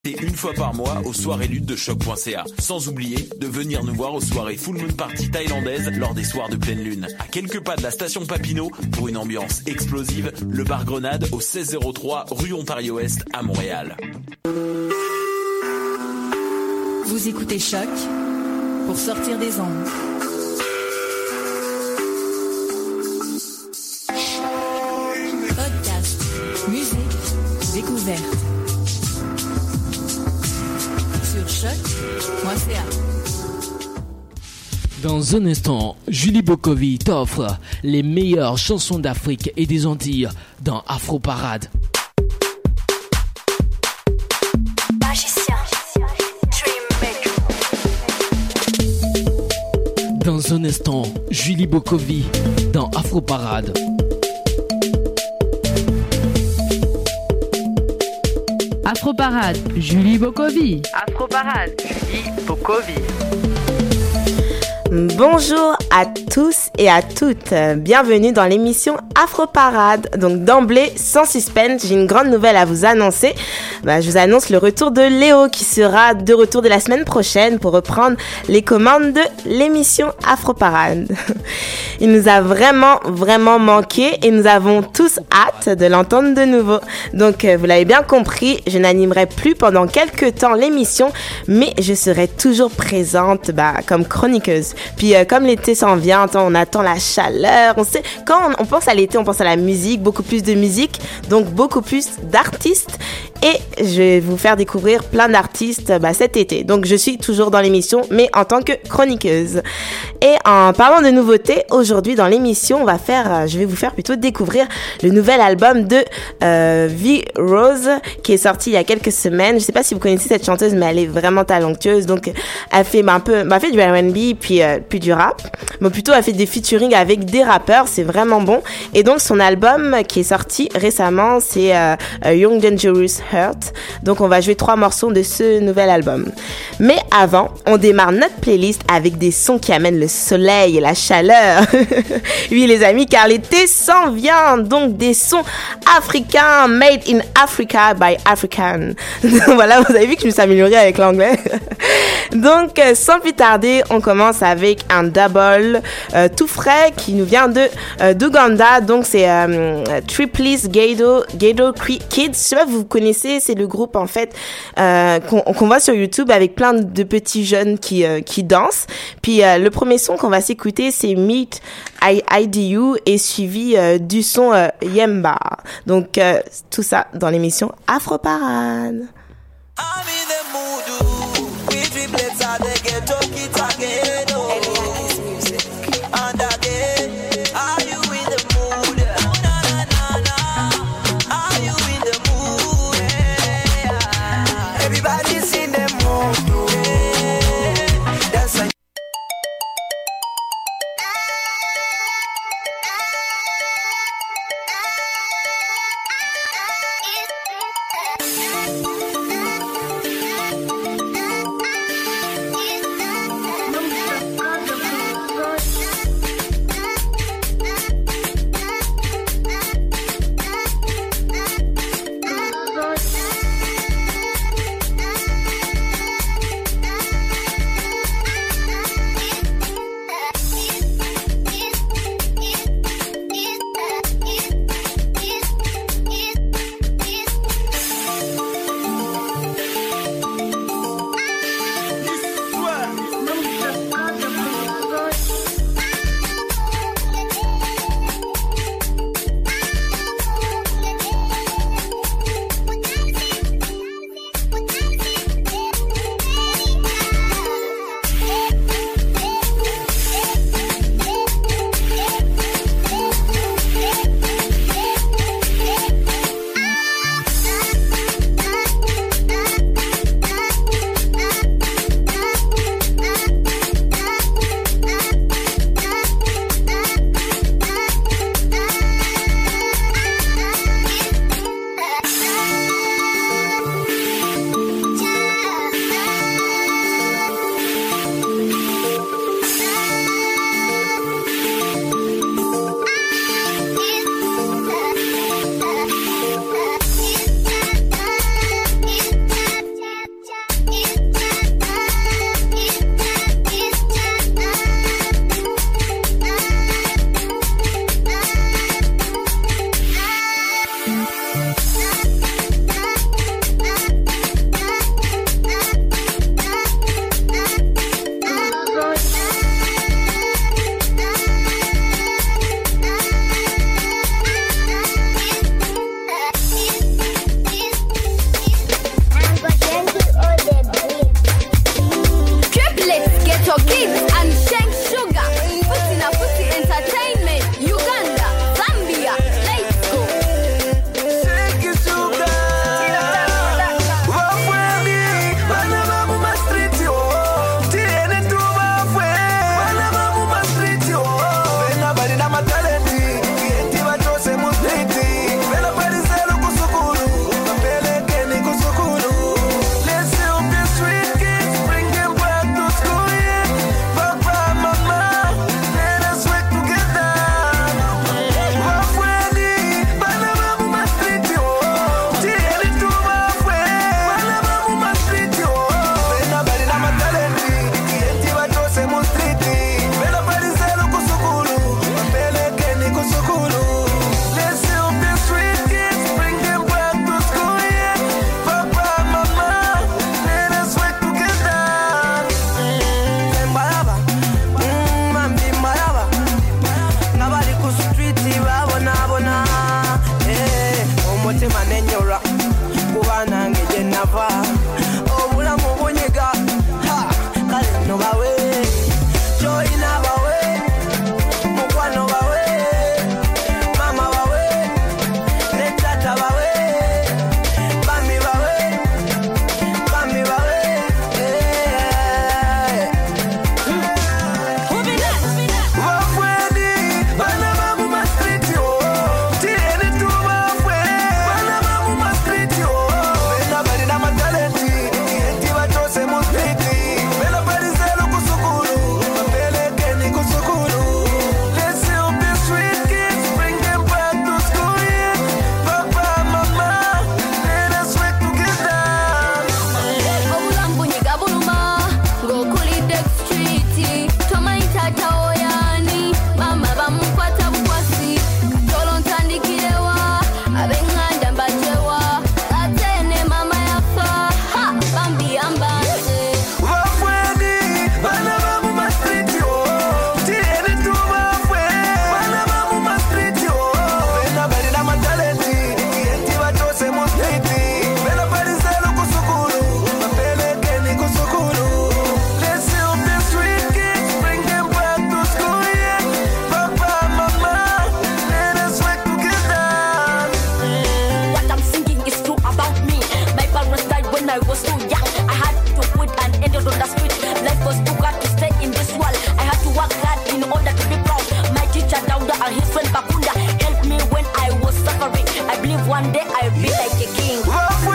Une fois par mois aux soirées luttes de choc.ca. Sans oublier de venir nous voir aux soirées Full Moon Party thaïlandaises lors des soirs de pleine lune. À quelques pas de la station Papineau pour une ambiance explosive, le bar Grenade au 1603 rue Ontario-Est à Montréal. Vous écoutez Choc pour sortir des ondes. Podcast, musique, découverte. Sur choc.ca. Dans un instant, Julie Bokovi t'offre les meilleures chansons d'Afrique et des Antilles dans Afro Parade. Dans un instant, Julie Bokovi dans Afro Parade. Afro Parade, Julie Bokovi. Afro Parade, Julie Bokovi. Bonjour à tous et à toutes, bienvenue dans l'émission Afro Parade. Donc d'emblée, sans suspense, j'ai une grande nouvelle à vous annoncer. Je vous annonce le retour de Léo qui sera de retour de la semaine prochaine pour reprendre les commandes de l'émission Afro Parade. Il nous a vraiment manqué et nous avons tous hâte de l'entendre de nouveau. Donc vous l'avez bien compris, je n'animerai plus pendant quelques temps l'émission, mais je serai toujours présente comme chroniqueuse. Puis comme l'été s'en vient, on attend la chaleur, on sait, quand on pense à l'été, on pense à la musique, beaucoup plus de musique, donc beaucoup plus d'artistes. Et je vais vous faire découvrir plein d'artistes cet été. Donc je suis toujours dans l'émission, mais en tant que chroniqueuse. Et en parlant de nouveautés, aujourd'hui dans l'émission, je vais vous faire plutôt découvrir le nouvel album de V Rose qui est sorti il y a quelques semaines. Je sais pas si vous connaissez cette chanteuse, mais elle est vraiment talentueuse. Donc elle fait fait du R&B puis du rap. Mais plutôt elle fait des featuring avec des rappeurs, c'est vraiment bon. Et donc son album qui est sorti récemment, c'est Young Dangerous Heart. Donc on va jouer 3 morceaux de ce nouvel album. Mais avant, on démarre notre playlist avec des sons qui amènent le soleil et la chaleur. Oui les amis, car l'été s'en vient. Donc des sons africains, made in Africa by African. Voilà, vous avez vu que je me suis améliorée avec l'anglais. Donc sans plus tarder, on commence avec un double tout frais qui nous vient d'Ouganda. Donc c'est Triplice Ghetto Kids. Je sais pas si vous connaissez, c'est le groupe en fait qu'on voit sur YouTube avec plein de petits jeunes qui dansent. Puis le premier son qu'on va s'écouter, c'est Meet IDU et suivi du son Yemba. Donc tout ça dans l'émission Afro Parade. when I was too young. I had to put an end on the street. Life was too hard to stay in this world. I had to work hard in order to be proud. My teacher Dauda and his friend Bakunda helped me when I was suffering. I believe one day I'll be like a king.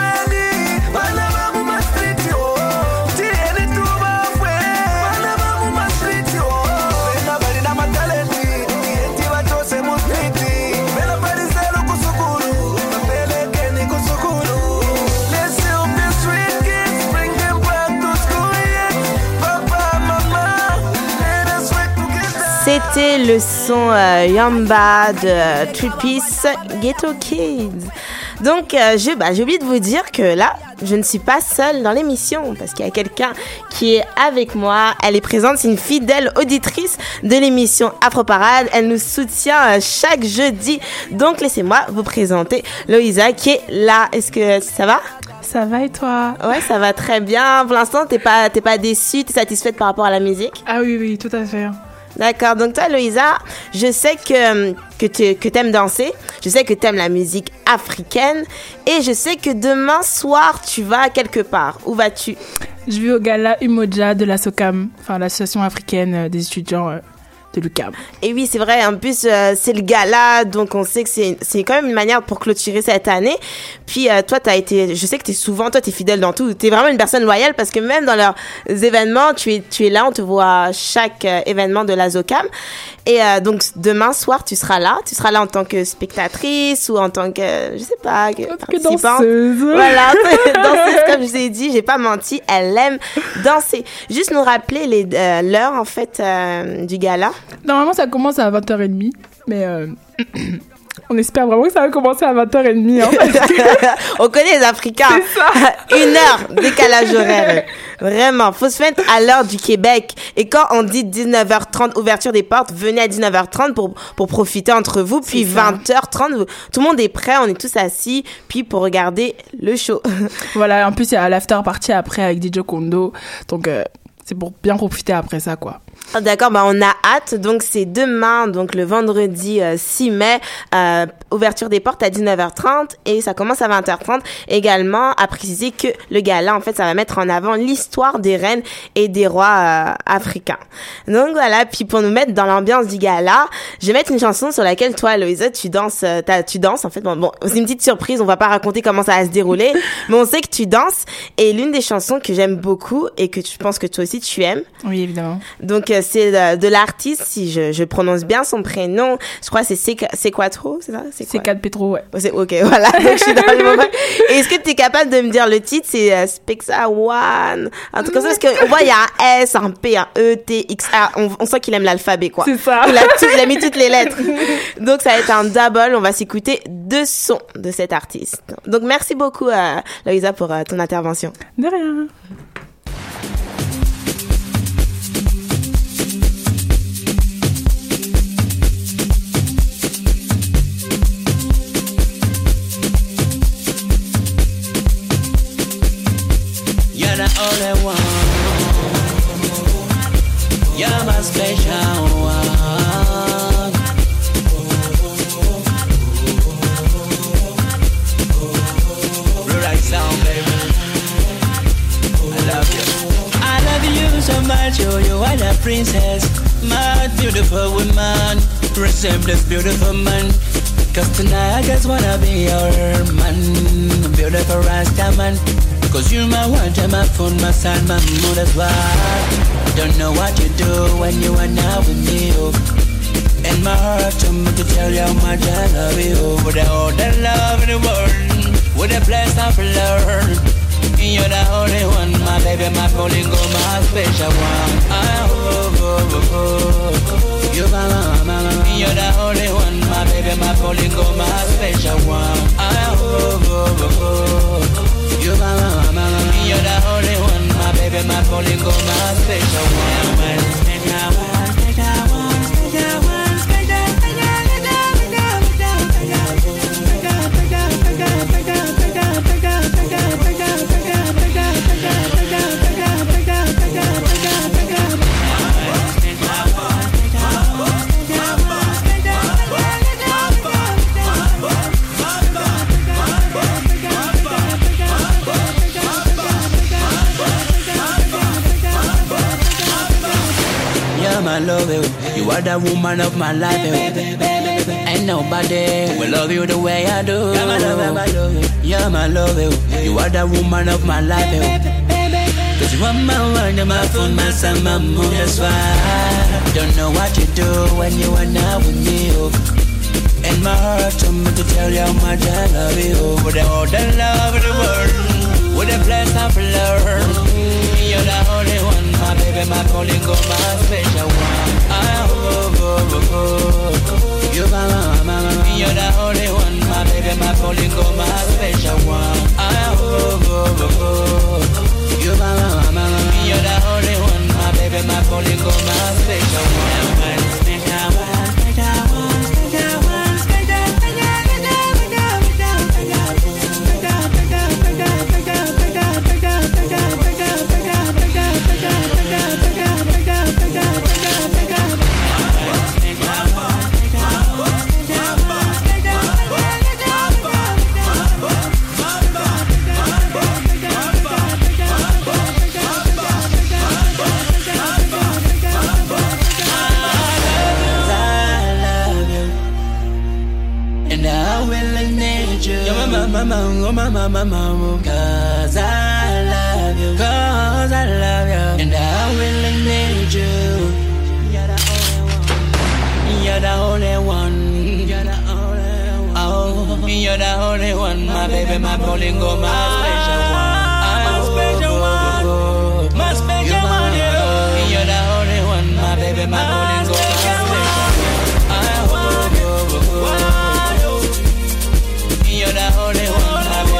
C'était le son Yamba de Tripis Ghetto Kids. Donc, j'ai oublié de vous dire que là, je ne suis pas seule dans l'émission parce qu'il y a quelqu'un qui est avec moi. Elle est présente, c'est une fidèle auditrice de l'émission Afro Parade. Elle nous soutient chaque jeudi. Donc, laissez-moi vous présenter Loïsa qui est là. Est-ce que ça va ? Ça va et toi ? Ouais, ça va très bien. Pour l'instant, t'es pas déçue, t'es satisfaite par rapport à la musique ? Ah oui, tout à fait. D'accord, donc toi Loïsa, je sais que t'aimes danser, je sais que t'aimes la musique africaine et je sais que demain soir tu vas quelque part. Où vas-tu ? Je vais au gala Umoja de la SOCAM, enfin l'association africaine des étudiants de l'UQAM. Et oui, c'est vrai, en plus c'est le gala, donc on sait que c'est quand même une manière pour clôturer cette année. Puis toi je sais que t'es fidèle dans tout, t'es vraiment une personne loyale parce que même dans leurs événements, tu es là, on te voit à chaque événement de la SOCAM. Et donc demain soir, tu seras là en tant que spectatrice ou en tant que, je sais pas, participante. Danseuse. Voilà, danseuse comme je vous ai dit, j'ai pas menti, elle aime danser. Juste nous rappeler l'heure en fait du gala. Normalement, ça commence à 20h30, mais on espère vraiment que ça va commencer à 20h30. Hein, on connaît les Africains. C'est ça. 1 heure décalage horaire. Vraiment, faut se mettre à l'heure du Québec. Et quand on dit 19h30, ouverture des portes, venez à 19h30 pour profiter entre vous. Puis 20h30, tout le monde est prêt, on est tous assis, puis pour regarder le show. Voilà, en plus, il y a l'after party après avec DJ Kondo. Donc, c'est pour bien profiter après ça, quoi. D'accord, on a hâte. Donc, c'est demain, donc le vendredi 6 mai, ouverture des portes à 19h30 et ça commence à 20h30. Également, à préciser que le gala, en fait, ça va mettre en avant l'histoire des reines et des rois africains. Donc, voilà. Puis, pour nous mettre dans l'ambiance du gala, je vais mettre une chanson sur laquelle toi, Loïsa, tu danses, en fait. Bon, c'est une petite surprise. On va pas raconter comment ça va se dérouler, mais on sait que tu danses. Et l'une des chansons que j'aime beaucoup et que je pense que toi aussi tu aimes. Oui, évidemment. Donc, c'est de l'artiste, si je prononce bien son prénom, je crois que c'est Quattro, c'est ça? C'est 4 Petro, ouais. Ok, voilà, donc je suis dans le moment. Et est-ce que tu es capable de me dire le titre? C'est Spexa One, un truc comme ça, parce qu'on voit il y a un S, un P, un E, T, X, A, on sent qu'il aime l'alphabet, quoi. C'est ça. Il a mis toutes les lettres. Donc ça va être un double, on va s'écouter 2 sons de cet artiste. Donc merci beaucoup, Loïsa, pour ton intervention. De rien. You're the only one. You're my special one. Right sound, baby. I love you. I love you so much. You are the princess, my beautiful woman. Resembles beautiful man. Cause tonight I just wanna be your man. Beautiful Rasta man. Cause you're my one, my phone, my son, my mood as well. Don't know what you do when you are not with me. And my heart told me to tell you how much I love you. With all the love in the world, with a blessed of love. You're the only one, my baby, my Polingo, my special one. You're the only one, my baby, my Polingo, my special one. You're the only one, my baby, my Polingo, my special one. I love you. You are the woman of my life. Ain't nobody will love you the way I do. You're my love, I love you. You're my love, you are the woman of my life. Cause you are my one, my phone, my son, my moon. That's why I don't know what you do when you are not with me. And my heart told me to tell you how much I love you. With all the love of the world, with the bless of love. You're the only one, my baby, my calling, go my special one. You're my mama, you're the only one, my baby, my calling, go my special one. You're my mama, you're the only one, my baby, my calling, go my special one. Special one, special one, special one. Mama, cause I love you, and I really need you. You're the only one, you're the only one, oh, you're the only one, my baby, my bolingo, my special one, my special one, you're the only one, my baby, my bolingo, my special one, you're the only one.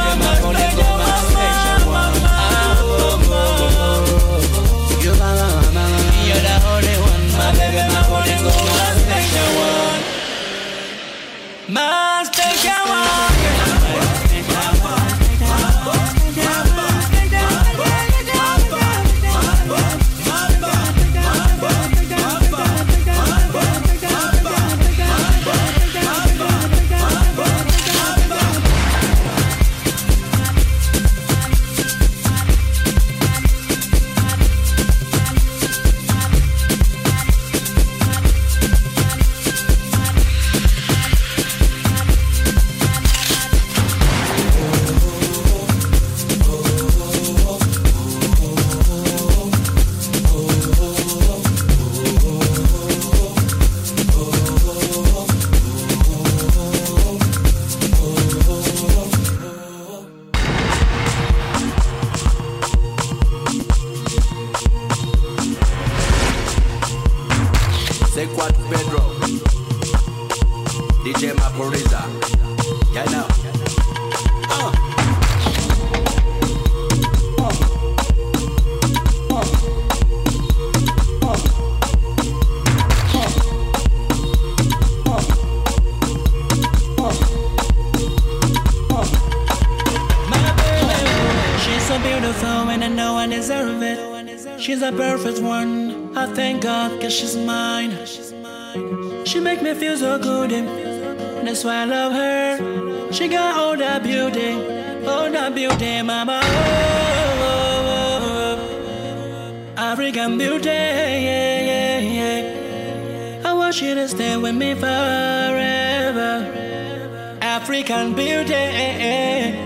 She's a perfect one, I thank God, cause she's mine. She make me feel so good, that's why I love her. She got all that beauty, mama. African beauty, yeah, yeah, yeah. I want you to stay with me forever. African beauty.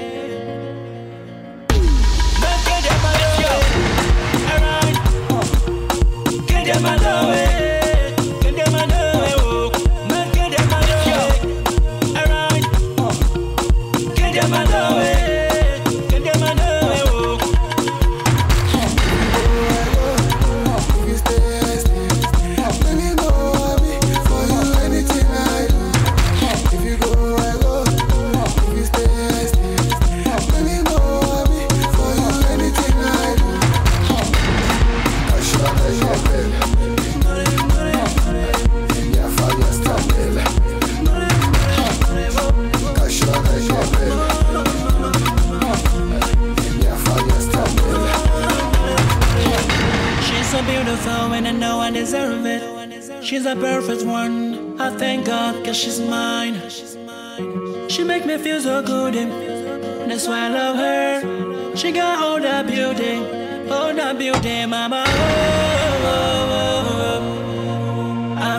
She's a perfect one, I thank God, cause she's mine. She make me feel so good, that's why I love her. She got all that beauty, mama.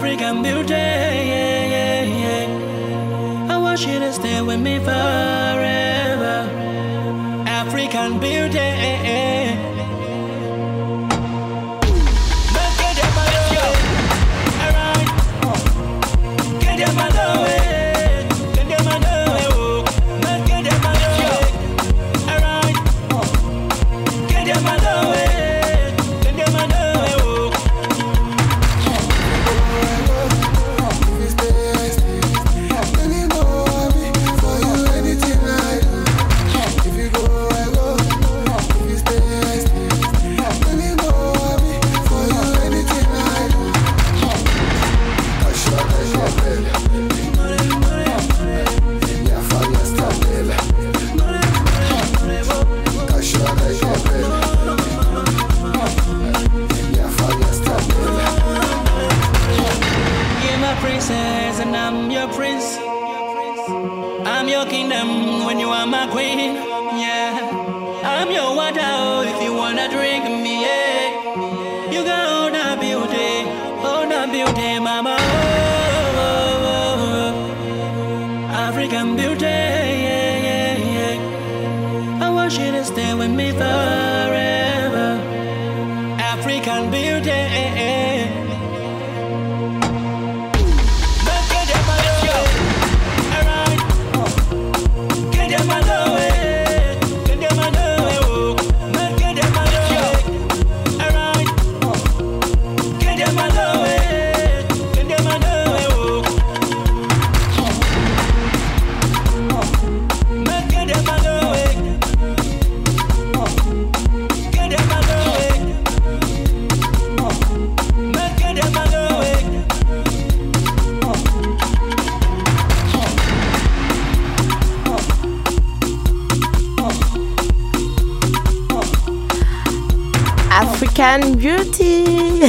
African beauty, yeah, yeah, yeah. I want you to stay with me forever. African beauty, African Beauty.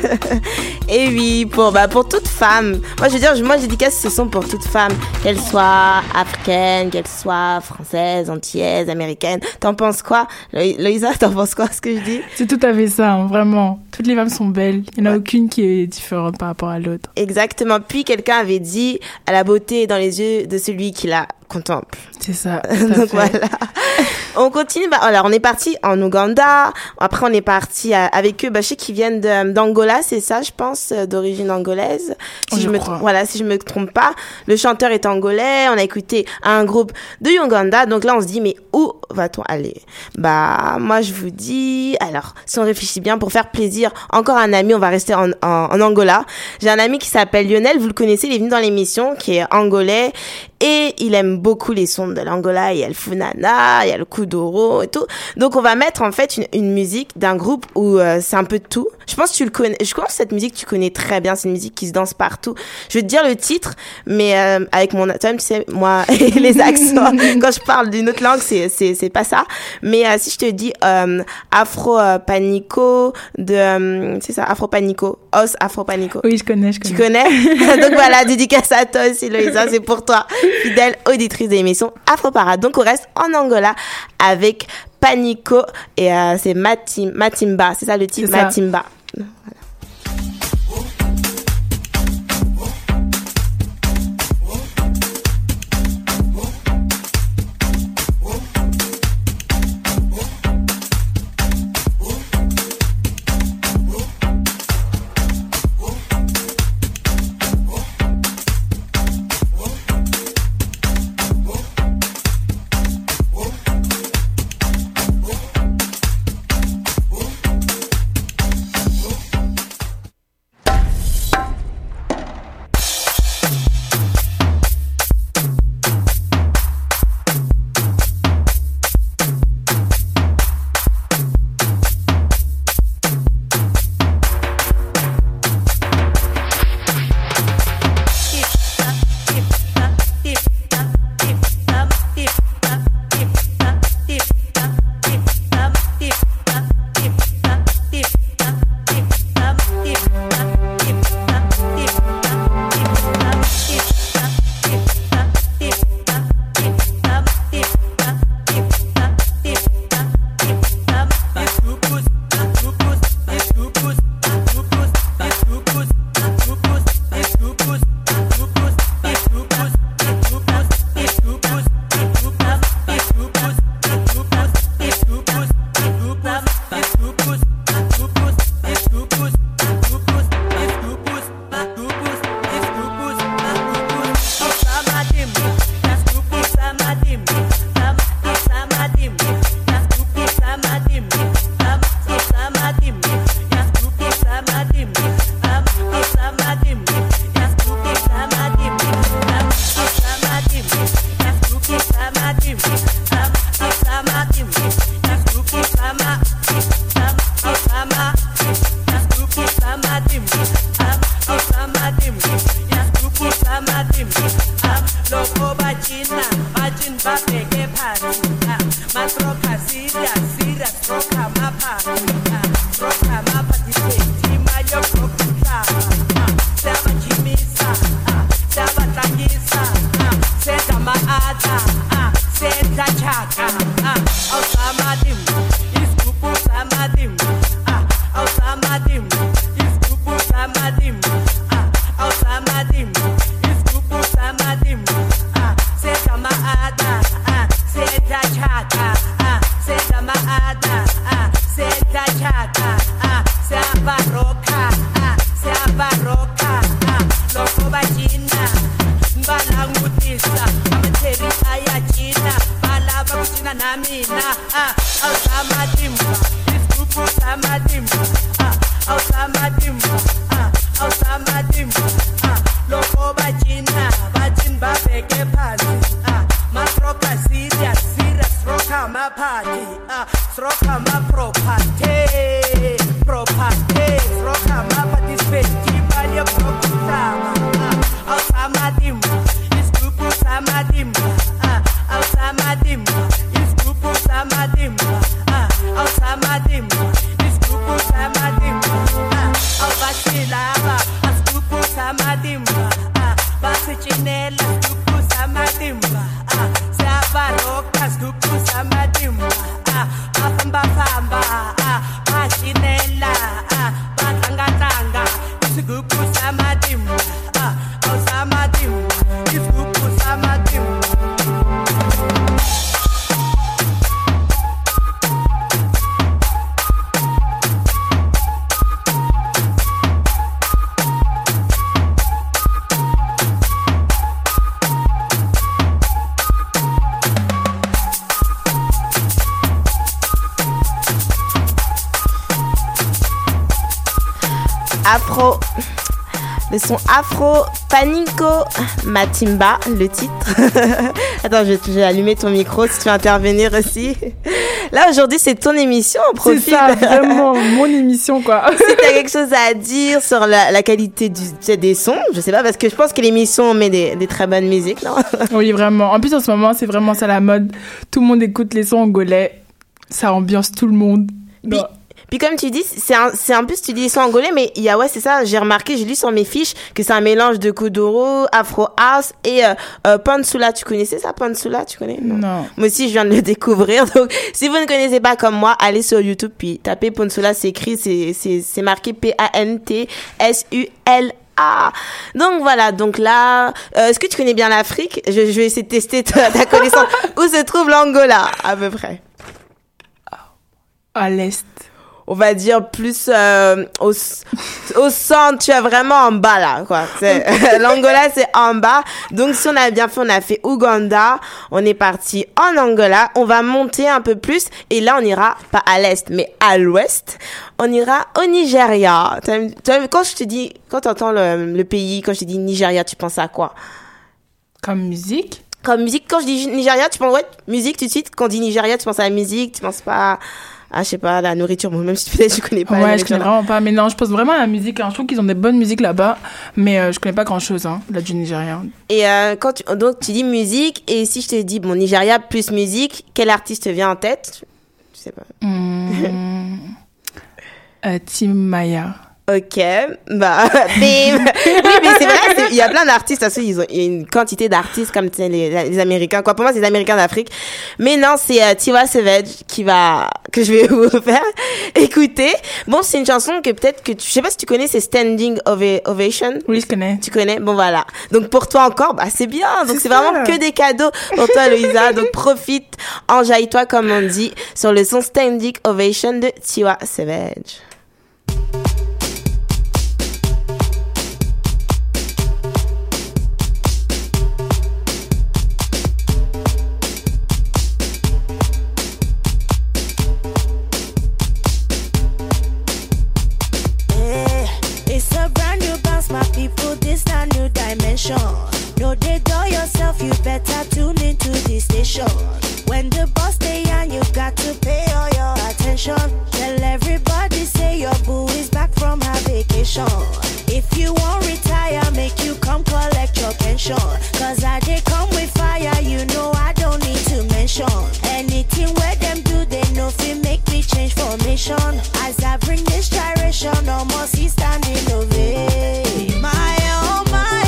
Et oui, pour toute femme. Moi, je veux dire, moi, je dédicace ce son pour toute femme, qu'elle soit africaine, qu'elle soit française, antillaise, américaine. T'en penses quoi, Loïsa? T'en penses quoi, ce que je dis? C'est tout à fait ça, hein, vraiment. Toutes les femmes sont belles. Il n'y en a aucune qui est différente par rapport à l'autre. Exactement. Puis quelqu'un avait dit, la beauté est dans les yeux de celui qui la contemple. C'est ça. Donc voilà. On continue. Alors, on est parti en Ouganda. Après, on est parti avec eux. Je sais qu'ils viennent d'Angola, c'est ça, je pense, d'origine angolaise. Si je me trompe pas. Le chanteur est angolais. On a écouté un groupe de Uganda. Donc là, on se dit, mais où va-t-on aller? Moi, je vous dis, alors, si on réfléchit bien, pour faire plaisir, encore un ami, on va rester en Angola. J'ai un ami qui s'appelle Lionel. Vous le connaissez, il est venu dans l'émission, qui est angolais. Et il aime beaucoup les sons de l'Angola. Il y a le Funana, il y a le Kuduro et tout. Donc, on va mettre, en fait, une musique d'un groupe où c'est un peu de tout. Je pense que tu le connais. Je pense que cette musique, tu connais très bien. C'est une musique qui se danse partout. Je vais te dire le titre, mais avec mon accent, tu sais, moi, et les accents, quand je parle d'une autre langue, c'est pas ça. Mais si je te dis Afro Panico c'est ça, Afro Panico, Os Afro Panico. Oui, je connais. Tu connais? Donc voilà, dédicace à toi aussi, Loïsa, c'est pour toi, fidèle auditrice de l'émission Afro Parade. Donc on reste en Angola avec Panico et c'est Matimba, c'est ça le titre, Matimba. Voilà. Siyabatshata, siyabaroka, siyabaroka, loko bajina, balangutisa, amatheri ayajina, balaba kujina namina, awusamadimba, isigubhu samadimba, awusamadimba, awusamadimba, loko bajina, bajini babeke phansi, masroka serious, roka mapati, roka maproperty, roka mapati festival ya prokutama, awusamadimba, isigubhu samadimba, awusamadimba, isigubhu samadimba, awusamadimba, isigubhu samadimba, awubasilaba, isigubhu samadimba, basichinela, isigubhu samadimba, siyabaroka, isigubhu samadimba, bafamba, bashinela, batlanga, isigubhu samadimba, awusamadimba, isigubhu samadimba. Afro, le son Afro Panico Matimba, le titre. Attends, je vais allumer ton micro si tu veux intervenir aussi. Là, aujourd'hui, c'est ton émission, on profite. C'est ça, vraiment, mon émission, quoi. Si t'as quelque chose à dire sur la qualité des sons, je sais pas, parce que je pense que l'émission met des très bonnes musiques, non? Oui, vraiment. En plus, en ce moment, c'est vraiment ça la mode. Tout le monde écoute les sons angolais. Ça ambiance tout le monde. Puis comme tu dis, c'est un peu, tu dis les sons angolais, mais il y a, ouais, c'est ça, j'ai remarqué, j'ai lu sur mes fiches que c'est un mélange de kuduro, afro house et pansula. Tu connaissais ça, pansula? Tu connais? Non. Moi aussi, je viens de le découvrir. Donc, si vous ne connaissez pas comme moi, allez sur YouTube puis tapez pansula, c'est écrit, c'est marqué P-A-N-T-S-U-L-A. Donc voilà, donc là, est-ce que tu connais bien l'Afrique? Je vais essayer de tester ta connaissance. Où se trouve l'Angola, à peu près? À l'est. On va dire plus au centre, tu es vraiment en bas là, quoi. L'Angola, c'est en bas. Donc, si on a bien fait, on a fait Ouganda, on est parti en Angola, on va monter un peu plus, et là, on ira pas à l'est, mais à l'ouest. On ira au Nigeria. Quand je te dis, quand t'entends le pays, quand je te dis Nigeria, tu penses à quoi? Comme musique? Comme musique, quand je dis Nigeria, tu penses, ouais, musique tout de suite. Quand on dit Nigeria, tu penses à la musique, tu penses pas je sais pas, la nourriture. Bon, même si peut-être je connais pas. Ouais, je connais vraiment pas. Mais non, je pense vraiment à la musique. Hein. Je trouve qu'ils ont des bonnes musiques là-bas. Mais je connais pas grand-chose, là, du Nigeria. Et donc, tu dis musique. Et si je te dis, bon, Nigeria plus musique, quel artiste te vient en tête? Je sais pas. Tim Maya. Ok, bah, oui, mais c'est vrai, il y a plein d'artistes, parce qu'il y a une quantité d'artistes comme les Américains, quoi. Pour moi, c'est les Américains d'Afrique. Mais non, c'est Tiwa Savage que je vais vous faire écouter. Bon, c'est une chanson que peut-être que je sais pas si tu connais, c'est Standing Ovation. Oui, je connais. Tu connais? Bon, voilà. Donc, pour toi encore, bah, c'est bien. Donc, c'est vraiment que des cadeaux pour toi, Louisa. Donc, profite, enjaille-toi, comme on dit, sur le son Standing Ovation de Tiwa Savage. No, they do yourself, you better tune into the station. When the boss stay on, you got to pay all your attention. Tell everybody, say your boo is back from her vacation. If you won't retire, make you come collect your pension. Cause I they come with fire, you know I don't need to mention. Anything where them do, they know if it make me change formation. As I bring this gyration, no more see standing ovation. My oh my.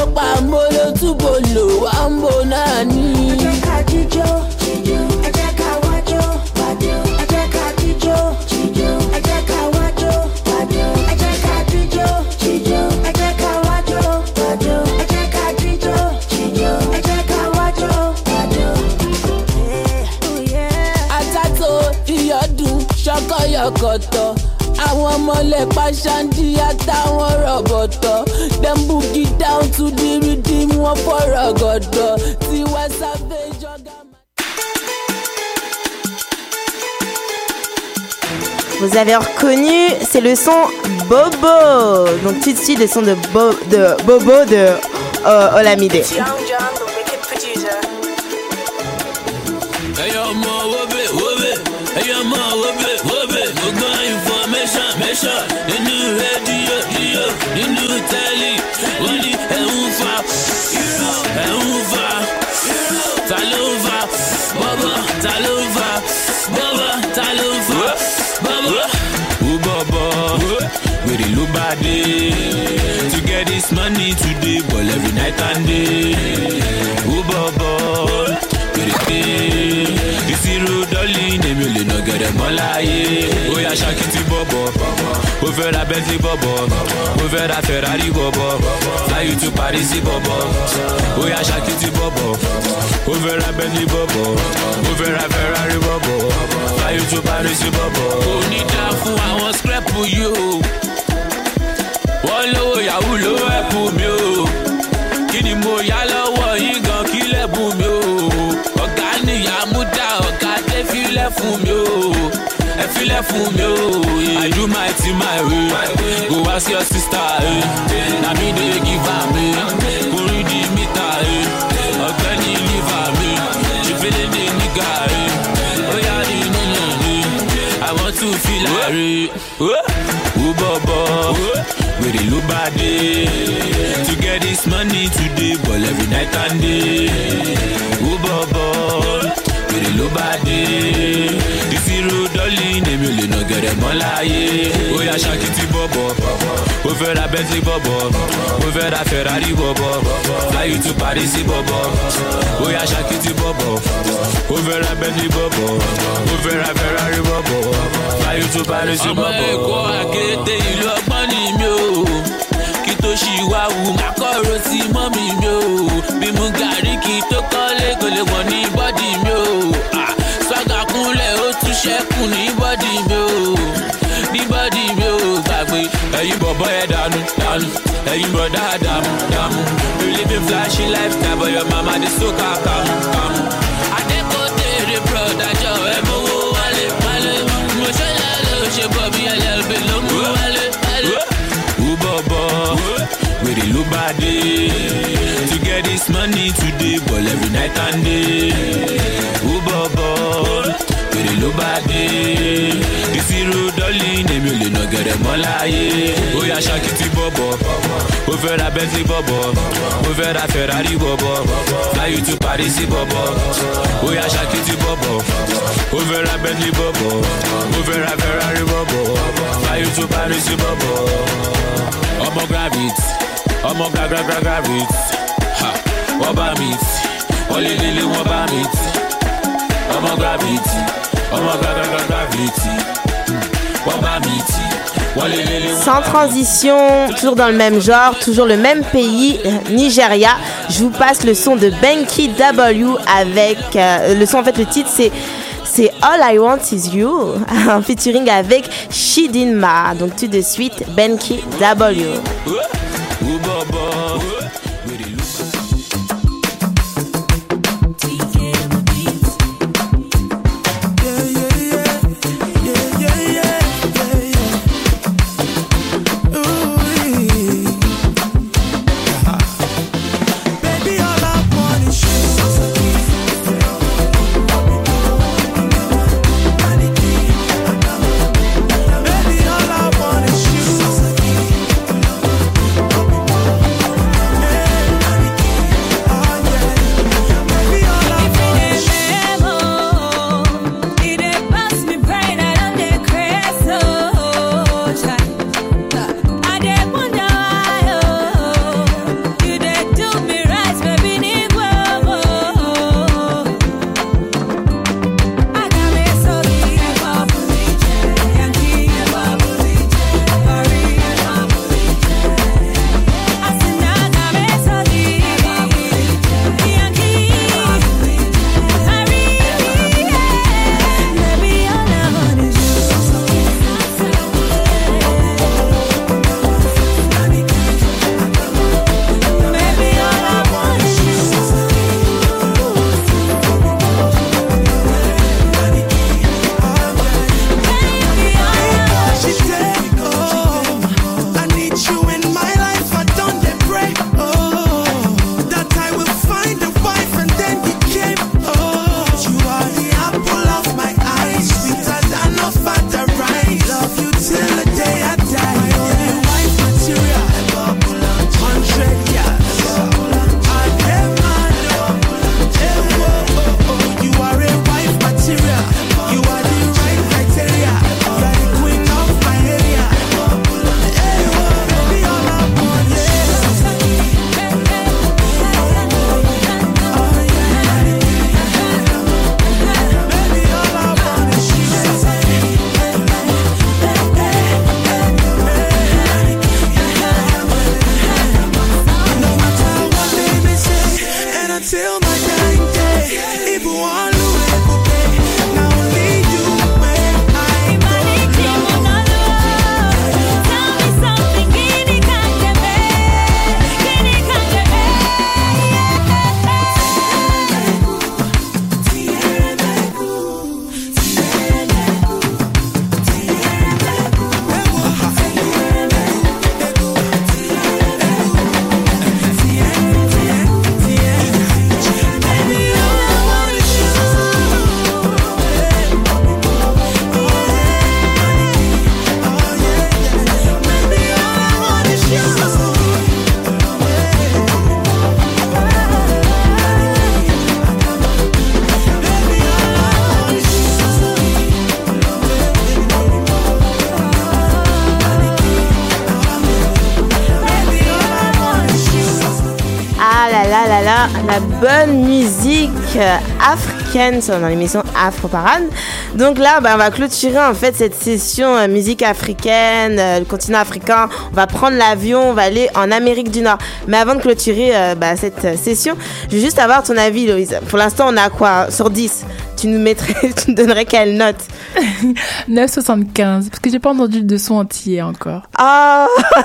pa molo tubolo ambo nani. Ejeka jijo, ejeka wajo, ejeka jijo, ejeka wajo, ejeka jijo, ejeka wajo, ejeka jijo, ejeka wajo. Atato iyọdun ṣọkọ yọkọtọ. Àwọn ọmọlẹ̀ pàṣándì àtàwọn rọ̀bọ̀tọ̀. Dem boogie down to the rhythm wọn fọ̀rọ̀ gọ̀dọ̀. Tiwa Savage ọ̀gá. Vous avez reconnu, c'est le son Bobo. Donc tout de suite le son de Bobo de Olamide. Nínú rédíò, nínú tẹ́lì, wọ́n ní ẹ̀ ń fa, ta ló ń fa, bọ́bọ́, ta ló ń fa, bọ́bọ́, ta ló ń fa, bọ́bọ́. Ó bọ́bọ́, wèrè ló bá dé, to get this money today, ball every night and day. Ó bọ́bọ́, wèrè dé, ìṣirò dọ́lì èmi ò lè nà gẹ̀rẹ̀ mọ́ láyé. Ó yá ṣákìtì bọ́bọ́. Ó fẹ́ ra Bentley bọ̀bọ̀, ó fẹ́ ra Ferrari bọ̀bọ̀, fly you to Paris bọ̀bọ̀, ó yá ṣàkìtì bọ̀bọ̀. Ó fẹ́ ra Bentley bọ̀bọ̀, ó fẹ́ ra Ferrari bọ̀bọ̀, fly you to Paris bọ̀bọ̀. Kò ní dá fún àwọn scrap yìí o, wọ́n lówó yahoo ló ẹ̀pù mi o, kí ni mo yá lọ́wọ́ yín gan kí lẹ́bù mi o, ọ̀gá nìyá mú dá ọ̀gá dé fílẹ̀ fún mi o. ẹ filẹ̀ fún mi o. I do my thing my way. Go ask your sister. Na me dey give am. Go read the meter. Ọ̀gbẹ́ni liver mi. She feeling the nigga. Oya di nínú. I want to feel like. Ó bọ̀bọ̀. Wèrè ló bá dé. To get this money today, ball every night and day. Ó bọ̀bọ̀. Wèrè ló bá dé. Ìṣirò dọ́lì èmi ò lè nà gẹ̀rẹ̀ mọ́ láyé. Ó yá ṣàkìtì bọ̀bọ̀. Ó fẹ́ ra Bentley bọ̀bọ̀. Ó fẹ́ ra Ferrari bọ̀bọ̀. Fly you to Paris bọ̀bọ̀. Ó yá ṣàkìtì bọ̀bọ̀. Ó fẹ́ ra Bentley bọ̀bọ̀. Ó fẹ́ ra Ferrari bọ̀bọ̀. Fly you to Paris bọ̀bọ̀. Ọmọ Èkó àkété ìlú ọgbọ́n ni mi ò. Kí tó ṣì wá wù má kọ̀rọ̀ sí mọ́mì mi ò. Bí mu gàrí kí tó kọ́lé kò lè wọ̀ ní bọ́dì mi ò. Sọ́gà kúnlẹ̀ ó tún ṣẹ́kù ní bọ́dì mi ò. Ní bọ́dì mi ò gbàgbé. Ẹ̀yin bọ̀bọ̀ ẹ̀ dànù dànù. Ẹ̀yin bọ̀dá dàmú dàmú. You live a flashy lifestyle but your mama dey so kàkàmù kàmù. Adékòtèrè broda jọ ẹ̀ mowó wálé wálé. Mo ṣe lálẹ́ ò ṣe bọ̀ bí LLB ló mú wálé wálé. Ó bọ̀bọ̀ wèrè ló bá dé. To get this money today, ball every night and day. Ó bọ̀bọ̀ wèrè ló bá dé. Ìṣirò dọ́lì èmi ò lè nà gẹ̀rẹ̀ mọ́ láyé. Ó yá ṣàkìtì bọ̀bọ̀. Ó fẹ́ ra Bentley bọ̀bọ̀. Ó fẹ́ ra Ferrari bọ̀bọ̀. Fly you to Paris bọ̀bọ̀. Ó yá ṣàkìtì bọ̀bọ̀. Ó fẹ́ ra Bentley bọ̀bọ̀. Ó fẹ́ ra Ferrari bọ̀bọ̀. Fly you to Paris bọ̀bọ̀. Ọmọ gravity, ọmọ gravity. Wọ́n bá mi tì, wọ́n lé lélẹ̀ wọ́n bá mi tì. Ọmọ gravity, ọmọ gravity. Wọ́n bá mi tì, wọ́n lé lélẹ̀ wọ́n bá mi tì. Sans transition, toujours dans le même genre, toujours le même pays, Nigeria. Je vous passe le son de Benki W avec le son, en fait le titre c'est All I Want Is You, en featuring avec Chidinma. Donc tout de suite, Benki W. Baby, all I want is you. la bonne musique africaine dans l'émission Afro Parade. Donc là, on va clôturer en fait cette session musique africaine, le continent africain. On va prendre l'avion, on va aller en Amérique du Nord. Mais avant de clôturer cette session, je veux juste avoir ton avis, Loïse. Pour l'instant, on a quoi sur 10? Tu nous donnerais quelle note? 9,75 parce que j'ai pas entendu de son entier encore. Ah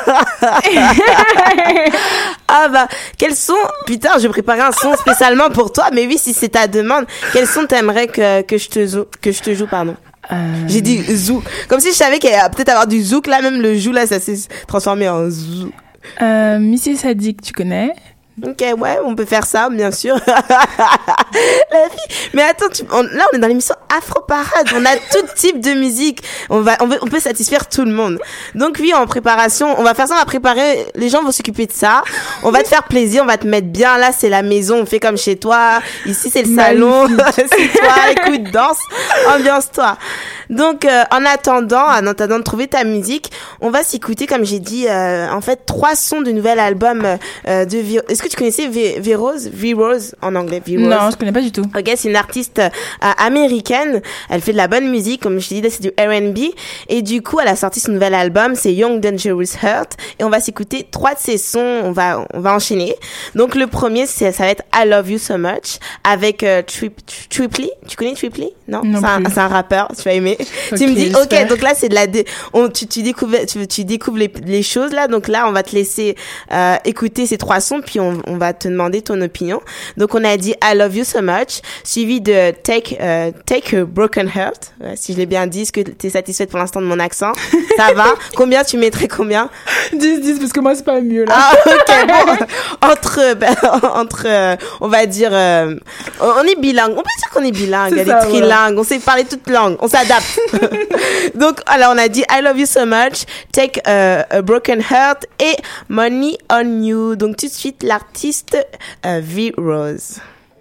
quel son? Putain, j'ai préparé un son spécialement pour toi, mais oui, si c'est ta demande, quel son t'aimerais que je te joue, pardon. J'ai dit zouk, comme si je savais qu'il allait peut-être avoir du zouk, là même le jou là ça s'est transformé en zouk. Missy Sadiq, tu connais? Ok, ouais, on peut faire ça, bien sûr. La fille. Mais attends, là, on est dans l'émission Afro Parade. On a tout type de musique. On peut satisfaire tout le monde. Donc oui, en préparation, on va faire ça, on va préparer. Les gens vont s'occuper de ça. On va te faire plaisir, on va te mettre bien. Là, c'est la maison, on fait comme chez toi. Ici, c'est le salon. C'est toi, écoute, danse, ambiance-toi. Donc, en attendant de trouver ta musique, on va s'écouter, comme j'ai dit, en fait, 3 sons du nouvel album de Virose. Est-ce que tu connaissais V-Rose? V-Rose en anglais, V-Rose. Non, je connais pas du tout. Ok, c'est une artiste américaine. Elle fait de la bonne musique, comme je t'ai dit, c'est du R&B. Et du coup, elle a sorti son nouvel album, c'est Young Dangerous Heart. Et on va s'écouter 3 de ses sons. On va enchaîner. Donc, le premier, ça va être I Love You So Much avec Tripley. Tu connais Tripley? Non c'est un rappeur. Tu vas aimer. Okay, tu me dis, ok, donc là, c'est de la tu découvres les choses, là. Donc là, on va te laisser écouter ces 3 sons, puis on va te demander ton opinion. Donc, on a dit I Love You So Much, suivi de Take a Broken Heart. Si je l'ai bien dit, est-ce que t'es satisfaite pour l'instant de mon accent? Ça va? Combien tu mettrais combien? 10, parce que moi, c'est pas mieux, là. Ah, ok, bon. Entre, on va dire, on est bilingue. On peut dire qu'on est bilingue. Elle est trilingue. Ouais. On sait parler toutes langues. On s'adapte. Donc, alors, on a dit I Love You So Much, Take a Broken Heart et Money on You. Donc, tout de suite, l'artiste V-Rose.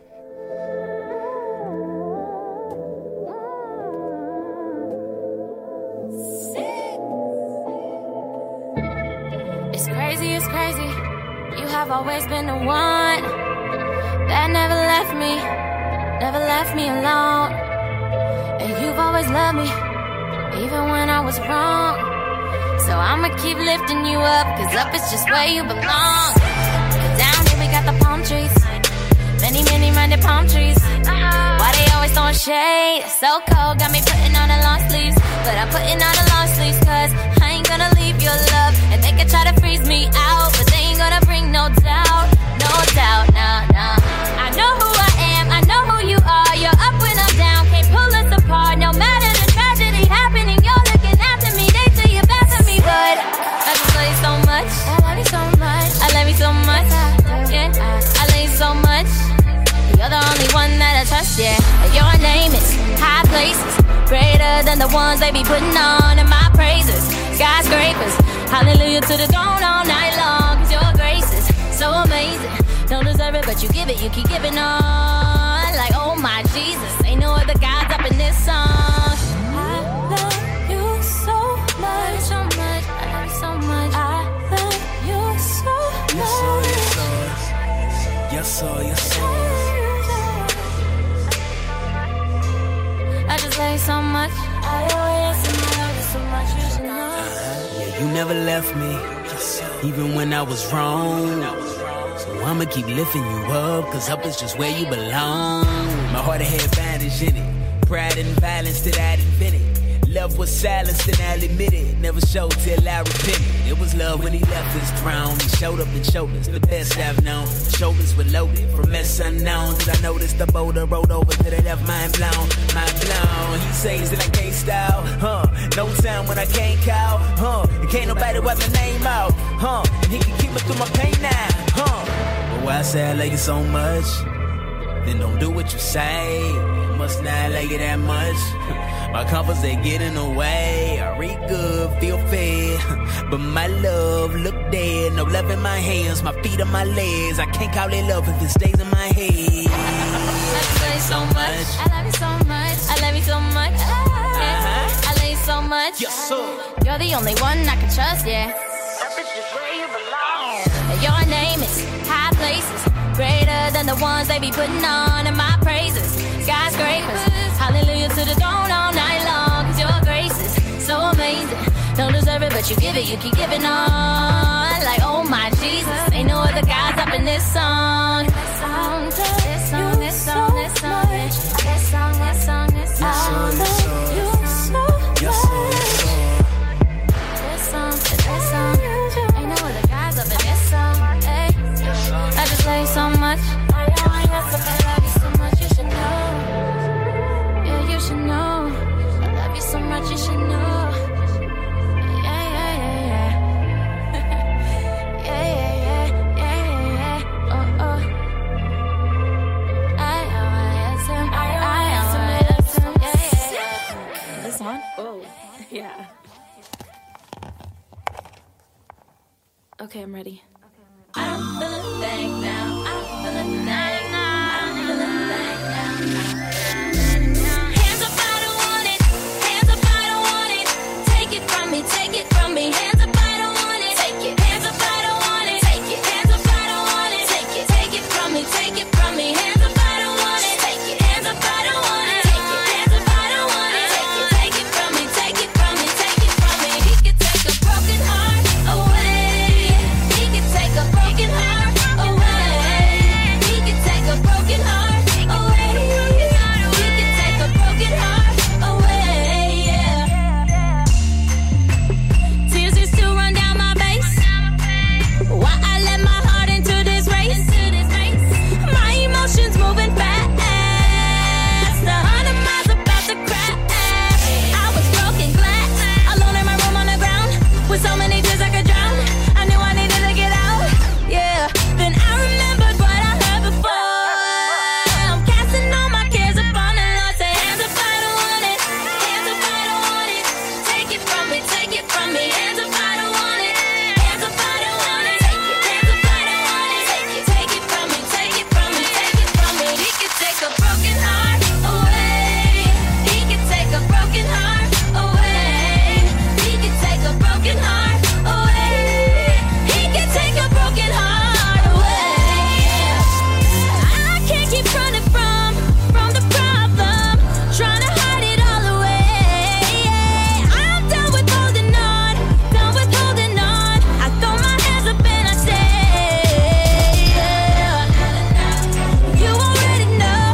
It's crazy. You have always been the one that never left me alone. And you've always loved me, even when I was wrong. So I'ma keep lifting you up, cause up is just where you belong. Cause down here we got the palm trees, many minded palm trees. Why they always throwing shade? It's so cold, got me putting on the long sleeves. But I'm putting on the long sleeves, cause I ain't gonna leave your love. And they can try to freeze me out, but they ain't gonna bring no doubt, nah. I know who I am, I know who you are. You're up when I'm down, can't pull us apart. No matter the tragedy happening, you're looking after me. They say you're bad for me, but I just love you so much. I love you so much. I love you so much. Yeah, I love you so much. You're the only one that I trust, yeah. Your name is high places, greater than the ones they be putting on in my praises. Skyscrapers, hallelujah to the throne all night long. Cause your grace is so amazing. Don't deserve it, but you give it, you keep giving on. Like, oh my Jesus, ain't no other gods up in this song. I love you so much, so much. I love you so much. I love you so much. Yes, I just love you so much. I love you so much. You should know. Yeah, you never left me, even when I was wrong. So I'ma keep lifting you up, cause up is just where you belong. My heart had bandage in it, pride and violence that I'd invented. Love was silenced and I'll admit it. Never showed till I repented. It was love when he left his throne. He showed up and showed us the best I've known. Shoulders were loaded from mess unknown. Did I notice the boulder rolled over to the left, mind blown, mind blown. He says that I can't style, no time when I can't call, and can't nobody wipe my name out, and he can keep me through my pain now, But why I say I like it so much, then don't do what you say. Must not like it that much. My comforts, they get in the way. I read good, feel fed, but my love look dead. No love in my hands, my feet on my legs. I can't call it love if it stays in my head. I love you so much. I love you so much. I love you so much. I love you so much. Yes, sir. You're the only one I can trust, yeah. That bitch is where you belong. Your name is high places, great the ones they be putting on in my praises. Skyscrapers, hallelujah to the throne all night long. Cause your grace is so amazing. Don't deserve it, but you give it, you keep giving on. Like, oh my Jesus, ain't no other gods up in this song. This song, this song, this song, this song, this song, this song, this song, this song, this song. Ain't no other gods up in this song. Hey, I just love you so much. I love you so much, you should know. Yeah, you should know. I love you so much, you should know. Yeah. Okay, I'm ready. I don't feel a thing now. I don't feel a thing now. I don't feel a thing now. Hands up, I don't want it. Hands up, I don't want it. Take it from me, take it from me. Hands up, I don't want it. Take it. Hands up, I don't want it. Take it. Hands up, I don't want it. Take it. Take it from me, take it from me. Hands up, I don't want it. Take it. Hands up, I don't want it. Take it. Hands up, I don't want it. Take it. Take it from me, take it from me, take it from me. He could take a broken heart away. He could take a broken heart away. He could take a broken heart away. He could take a broken heart away. Yeah. Tears used to run down my face. Why I let my heart into this race? My emotions moving fast. 100 miles about to crash. I was broken glass, alone in my room on the ground, with so many tears I could drown. I knew I needed to get out. Yeah. Then I remembered what I heard before. I'm casting all my cares upon the Lord. Say, hands up, I don't want it. Hands up, I don't want it. Take it from me, take it from me. Hands up, I don't want it. Hands up, I don't want it. Take it. Hands up, I don't want it. Take it. Take it from me, take it from me, take it from me. He could take a broken heart away. He could take a broken heart away. He could take a broken heart away. He could take a broken heart away. I can't keep running from the problem, trying to hide it all away. I'm done with holding on, done with holding on. I throw my hands up and I say, you already know.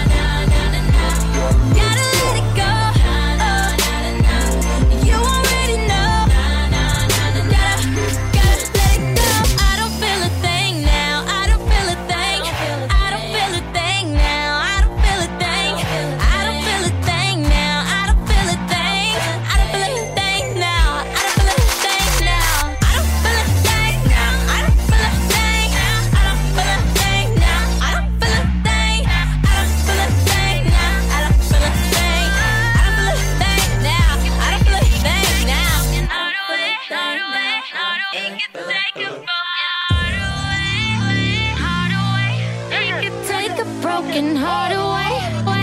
Gotta let it go. You already know. Gotta let it go. I don't feel a thing now. I don't feel a thing. I don't feel a thing now. I don't feel a thing. I don't feel a thing now. I don't feel a thing. I don't feel a thing now. I don't feel a thing now. I don't feel a thing now. I don't feel a thing. I don't feel a thing now. I don't feel a thing. I don't feel a thing now. I don't feel a thing. I don't feel a thing now. I don't feel a thing now. Heart away, heart away, heart away. He could take a heart away, heart away. He could take a broken heart away.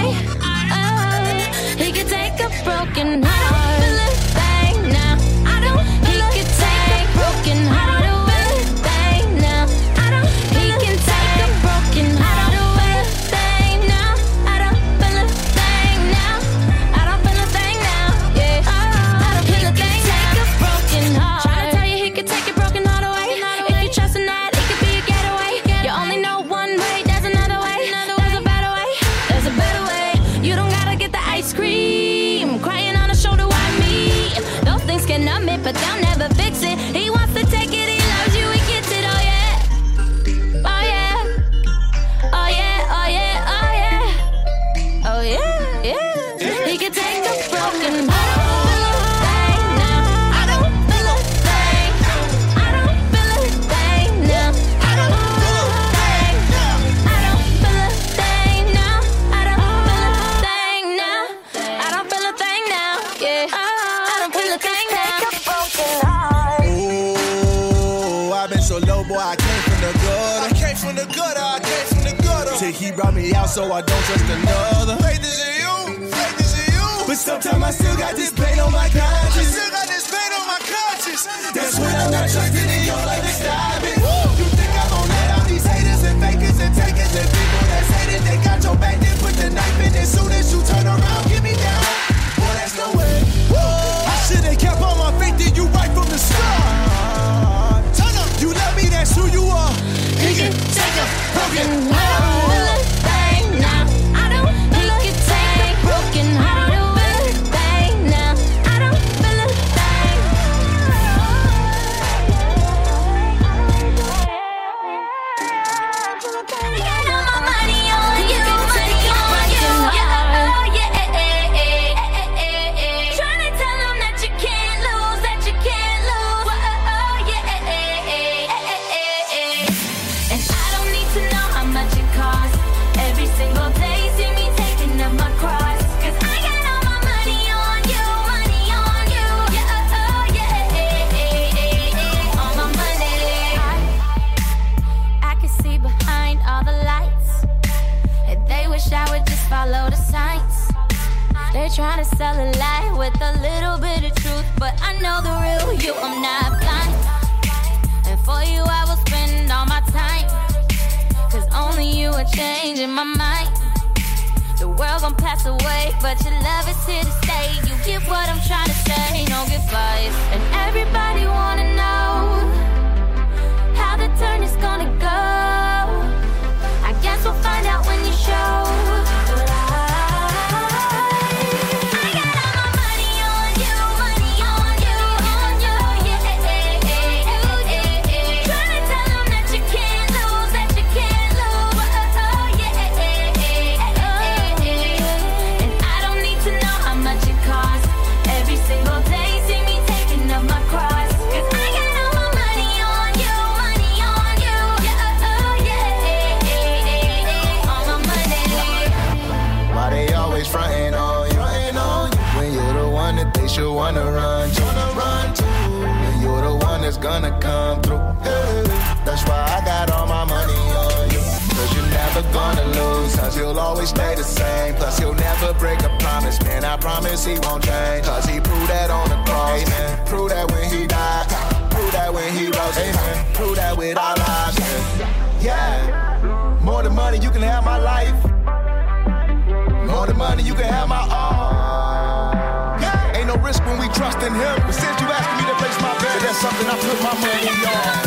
He could take a broken heart. I don't feel a thing now. I don't. He could take a broken heart away. Thing now. I don't. He can take a broken heart away. Thing now. I don't feel a thing now. I don't feel a thing now. Yeah. I don't feel a thing. Take a broken heart. Try to tell you he could take your broken heart away. If you trust in that, it could be a getaway. You only know one way. There's another way. There's a better way. There's a better way. You don't gotta get the ice cream. Crying on a shoulder, why me? Those things can numb it, but they'll never fix it. He wants to take it, he loves you, he gets it, oh yeah. Oh yeah. Oh yeah, oh yeah, oh yeah. Oh yeah, yeah. He could take a broken heart. I don't feel a thing. I don't feel a thing now. I don't feel a thing. I don't feel a thing now. I don't feel a thing now. I don't feel a thing now. Yeah. I don't feel a thing now. Ooh, I've been so low, boy, I came from the gutter. I came from the gutter, I came from the gutter. Till he brought me out, so I don't trust another. Faith is in you, faith is in you. But sometimes I still got this pain on my conscience. I still got this pain on my conscience. That's when I'm not trusting in your life to stop it. You think I'm gonna let out these haters and fakers and takers and people They're trying to sell a lie with a little bit of truth, but I know the real you, I'm not blind. And for you I will spend all my time, cause only you are changing my mind. The world gon' pass away, but your love is here to stay. You get what I'm trying to say, no goodbyes. And everybody wanna know how the turn is gonna go. I guess we'll find out when you show. But I got all my money on you, yeah. Trying to tell them that you can't lose, yeah. And I don't need to know how much it costs. Every single day, see me taking up my cross. 'Cause I got all my money on you, yeah. All my money. Why they always frontin' on you? When you're the one that they should wanna run to. When you're the one that's gonna come through. Hey, that's why I got all my money on you. Cause you're never gonna lose, cause you'll always stay the same. Plus he'll never break a promise, man, I promise he won't change. Cause he proved that on the cross, man. Prove that when he died, prove that when he rose, amen. Prove that with our lives, man. Yeah, more than money you can have my life. More than money you can have my all. Yeah, ain't no risk when we trust in him. But since you asking me to place my bet, that's something I put my money on.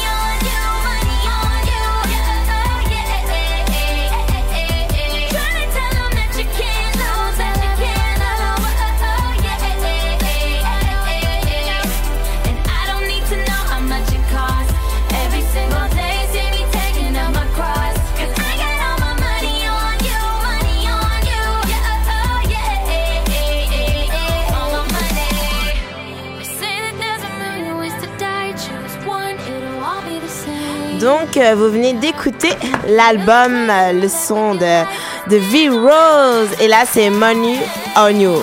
Donc, vous venez d'écouter l'album, le son de V-Rose. Et là, c'est Money on You.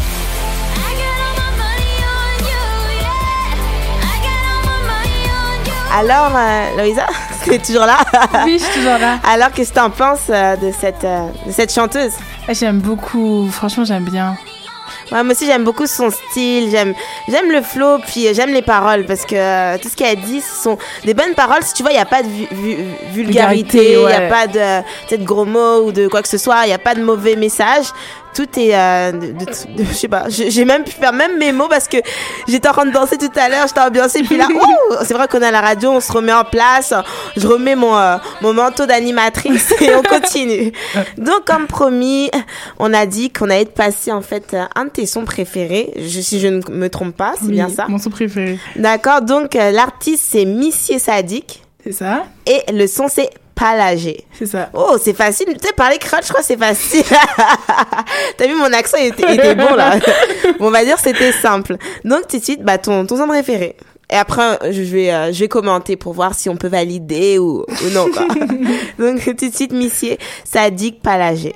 Alors, Loïsa, tu es toujours là? Oui, je suis toujours là. Alors, qu'est-ce que tu en penses de cette chanteuse? J'aime beaucoup, franchement, j'aime bien. Ouais, moi aussi j'aime beaucoup son style, j'aime le flow, puis j'aime les paroles parce que tout ce qu'elle dit ce sont des bonnes paroles. Si tu vois, il n'y a pas de vulgarité, il n'y a pas de gros mots ou de quoi que ce soit, il n'y a pas de mauvais messages. Tout est je sais pas, j'ai même pu faire même mes mots parce que j'étais en train de danser tout à l'heure, j'étais ambiancée, puis là c'est vrai qu'on est à la radio, on se remet en place, je remets mon manteau d'animatrice et on continue. Donc comme promis, on a dit qu'on allait te passer en fait un de tes sons préférés, si je ne me trompe pas, c'est bien ça? Mon son préféré. D'accord, donc l'artiste c'est Missier Sadiq. C'est ça. Et le son c'est Palagé. C'est ça. Oh, c'est facile. Tu sais, parler créole, je crois que c'est facile. T'as vu, mon accent était bon, là. Bon, on va dire c'était simple. Donc, tout de suite, ton son préféré. Et après, je vais commenter pour voir si on peut valider ou non, quoi. Donc, tout de suite, Missier Sadiq, Palagé.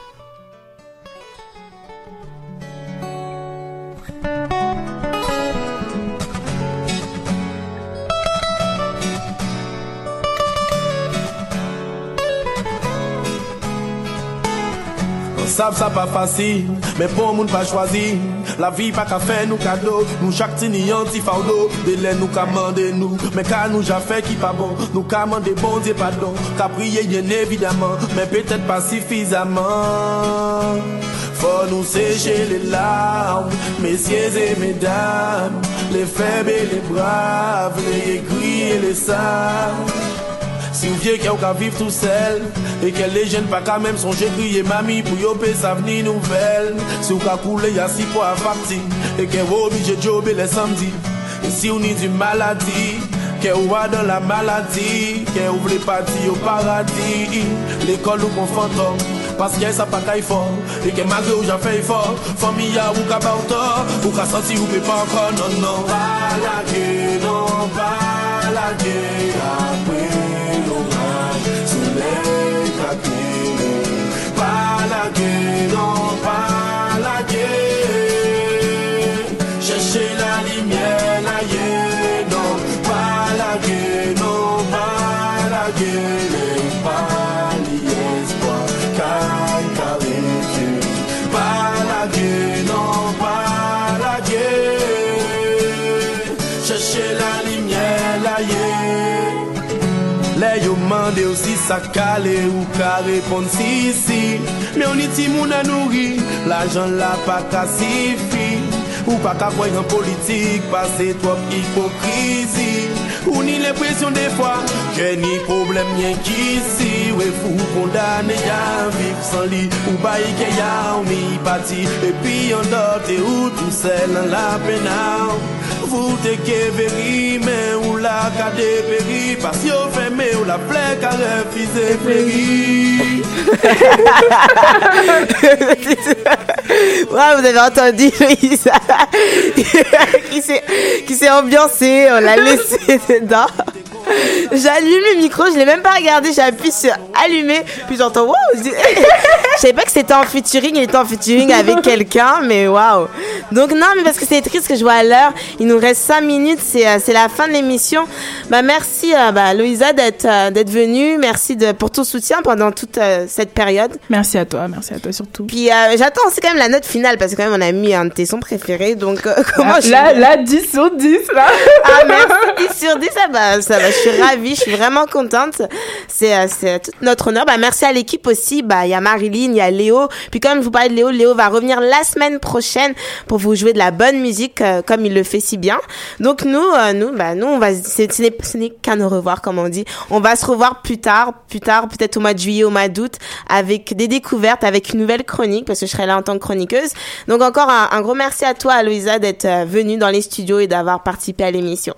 Ça pas facile, mais pour moun pas choisi. La vie pas qu'à faire nous cadeau, nous chaque tini anti fardeau. Délai nous commandez nous, mais car nous j'ai fait qui pas bon. Nous commandez bon Dieu pardon, qu'à prier bien évidemment, mais peut-être pas suffisamment. Faut nous sécher les larmes, messieurs et mesdames, les faibles et les braves, les aigris et les sages. Si vous vieux qui a vivre tout seul et que les jeunes pas quand même songer crier mamie pour yopé sa venir nouvelle. Si vous couler y'a 6 poids à facture et que vous obligé de jobber les samedis. Et si vous avez du maladie, que vous êtes dans la maladie, que vous voulez partir au paradis, l'école ou qu'on fantôme. Parce que ça pas qu'à fort et que malgré où j'en fais fort, famille ou qu'à pas autant, ou qu'à senti ou peut pas encore, non. Pas la gueule, non, pas la gueule, après. Pas la gueule, non, pas la gueule. Cherchez la lumière, la gueule, non, pas la gueule, non, pas la gueule. Pas l'espoir, car pas la gueule. Les yo mande aussi ça calé ou ka répondre si. Mais on y ti moun a nourri, l'argent la pas ka suffi. Ou pas qu'à voir en politique, passer trop hypocrisie. Ou ni l'impression des fois, j'ai ni problème rien qu'ici. Ouais, fou condamné, y'a vivre sans lit. Ou bail qu'il y a, on y parti. Et puis on dort, t'es où tout seul dans la peine. Vous t'es qu'évéri, mais ou la qu'a dépéri. Parce qu'on fait, mais ou la plaie qu'a refusé péri. Ouais, vous avez entendu Louisa qui s'est ambiancée, on l'a laissé dedans. J'allume le micro, je l'ai même pas regardé, j'appuie sur allumer, puis j'entends waouh. Je savais pas que c'était en featuring, il était en featuring avec quelqu'un, mais waouh. Donc non, mais parce que c'est triste que je vois à l'heure, il nous reste 5 minutes, c'est la fin de l'émission. Bah merci Louisa d'être venue, merci pour ton soutien pendant toute cette période. Merci à toi surtout. Puis j'attends aussi quand même la note finale parce que quand même on a mis un de tes sons préférés, donc comment là 10 sur 10 là. Ah merci, 10 sur 10, ça va. Je suis ravie, je suis vraiment contente. C'est tout notre honneur. Merci à l'équipe aussi. Il y a Marilyn, il y a Léo. Puis comme je vous parlais de Léo va revenir la semaine prochaine pour vous jouer de la bonne musique comme il le fait si bien. Donc nous on va, ce n'est qu'un au revoir comme on dit. On va se revoir plus tard, peut-être au mois de juillet, au mois d'août, avec des découvertes, avec une nouvelle chronique parce que je serai là en tant que chroniqueuse. Donc encore un gros merci à toi, Aloïsa, d'être venue dans les studios et d'avoir participé à l'émission.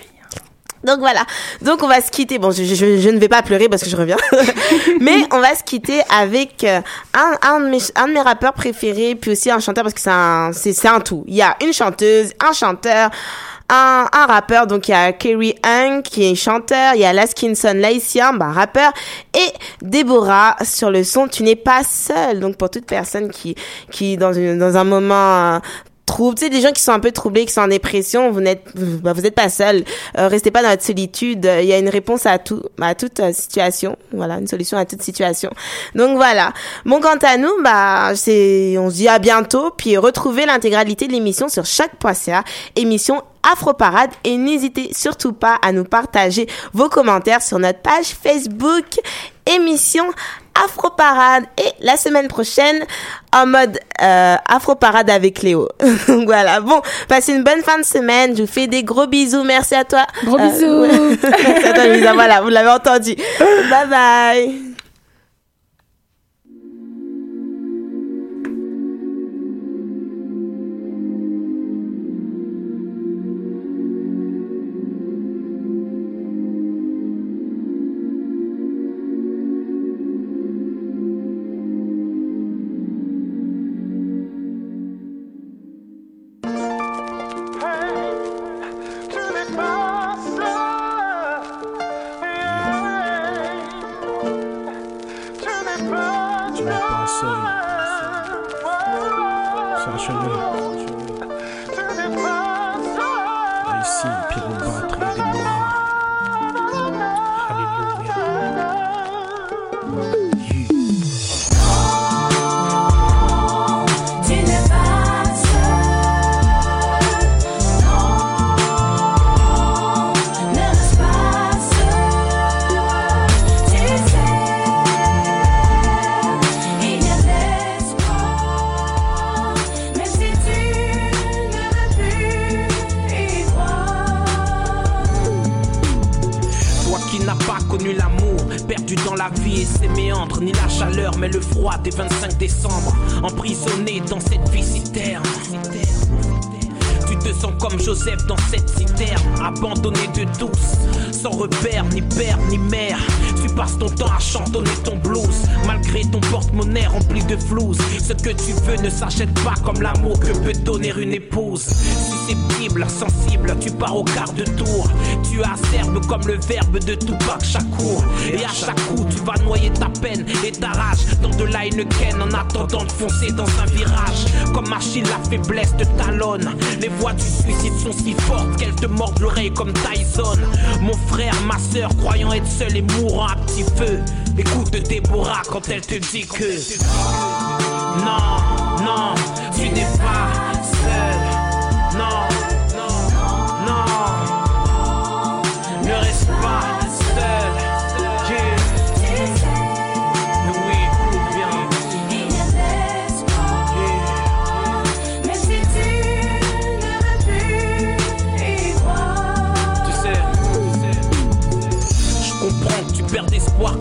Donc voilà, donc on va se quitter, bon je ne vais pas pleurer parce que je reviens, mais on va se quitter avec un de mes rappeurs préférés, puis aussi un chanteur parce que c'est un tout. Il y a une chanteuse, un chanteur, un rappeur, donc il y a Kerry Hung qui est chanteur, il y a Laskinson Laïcien, rappeur, et Déborah sur le son Tu n'es pas seule. Donc pour toute personne qui dans un moment trouble, tu sais, des gens qui sont un peu troublés, qui sont en dépression, vous n'êtes pas seul. Restez pas dans votre solitude. Il y a une réponse à toute situation. Voilà, une solution à toute situation. Donc voilà. Bon, quant à nous, on se dit à bientôt. Puis retrouvez l'intégralité de l'émission sur choc.ca, émission Afroparade, et n'hésitez surtout pas à nous partager vos commentaires sur notre page Facebook émission Afroparade, et la semaine prochaine en mode Afroparade avec Léo. Donc voilà, bon, passez une bonne fin de semaine, je vous fais des gros bisous, merci à toi. Gros bisous. Merci à toi Lisa, voilà, vous l'avez entendu. Bye bye. Ni la chaleur mais le froid des 25 décembre, emprisonné dans cette vie citerne. Tu te sens comme Joseph dans cette citerne, abandonné de tous, sans repère, ni père, ni mère. Tu passes ton temps à chantonner ton blues, malgré ton porte-monnaie rempli de flouze. Ce que tu veux ne s'achète pas comme l'amour que peut donner une épouse. Susceptible, sensible, tu pars au quart de tour. Tu acerbes comme le verbe de Tupac Shakur. Et à chaque coup, tu vas noyer ta peine et ta rage dans de la Heineken en attendant de foncer dans un virage. Comme Achille, la faiblesse te talonne. Les voix du suicide sont si fortes qu'elles te mordent l'oreille comme Tyson. Mon frère, ma sœur, croyant être seul et mourant à petit feu, écoute Déborah quand elle te dit que non, non, tu n'es pas seul. Non, non, non, ne reste pas seul.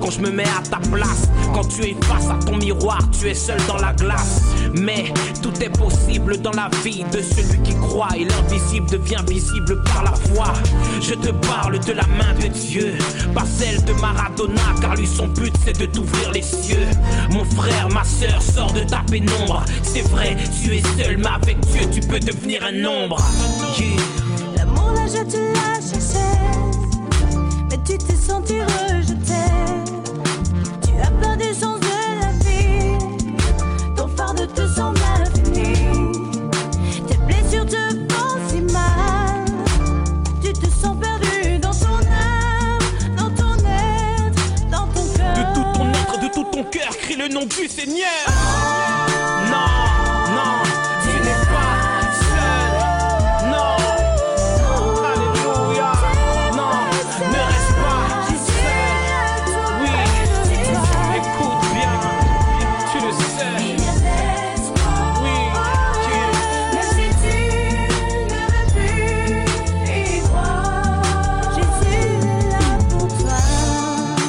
quand je me mets à ta place. Quand tu es face à ton miroir, tu es seul dans la glace. Mais tout est possible dans la vie de celui qui croit. Et l'invisible devient visible par la foi. Je te parle de la main de Dieu, pas celle de Maradona, car lui son but c'est de t'ouvrir les cieux. Mon frère, ma soeur, sors de ta pénombre. C'est vrai, tu es seul, mais avec Dieu tu peux devenir un nombre. L'amour là je te l'ai cherché, mais tu t'es senti rejeté. Tu as peur des chances de la vie, ton fardeau te semble infini. Tes blessures te font si mal, tu te sens perdu dans ton âme, dans ton être, dans ton cœur. De tout ton être, de tout ton cœur, crie le nom du Seigneur.